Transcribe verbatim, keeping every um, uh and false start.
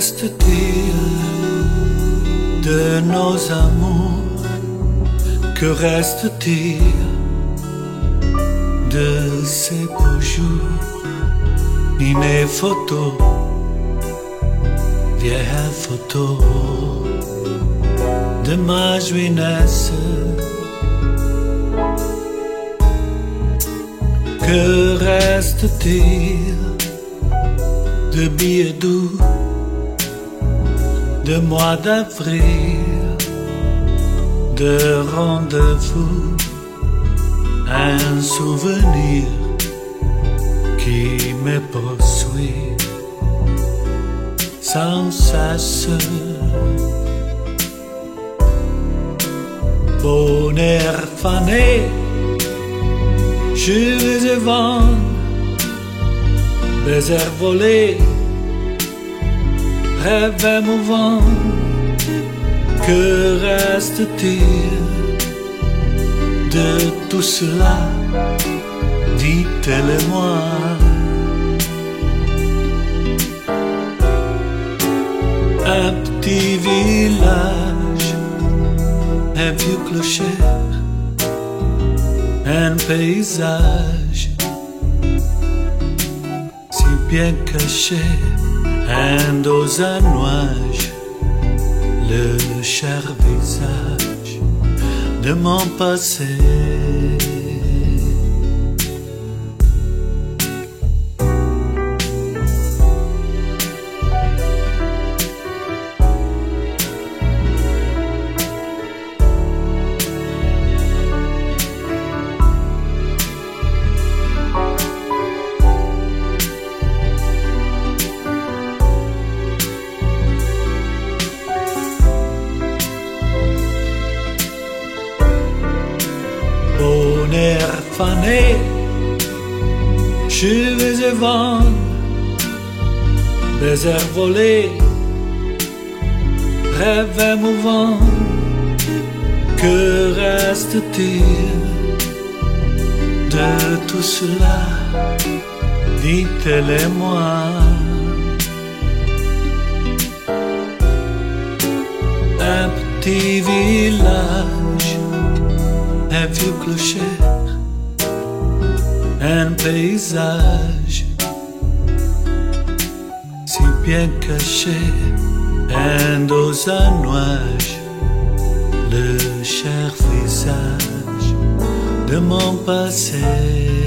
reste-t-il de nos amours? Que reste-t-il de ces beaux jours? Ni mes photos, vieilles photos de ma jeunesse. Que reste-t-il de billets doux de mois d'avril, de rendez-vous, un souvenir qui me poursuit sans cesse. Bonheur fané, je vais vendre, baiser volé, rêve émouvant. Que reste-t-il de tout cela? Dites-le-moi. Un petit village, un vieux clocher, un paysage si bien caché, un dos à nuage, le cher visage de mon passé. Bonheur fané, cheveux et vent, baiser volé, rêve émouvant. Que reste-t-il de tout cela? Dites-le-moi. Un petit village, un vieux clocher, un paysage si bien caché, un dos à nuage, le cher visage de mon passé.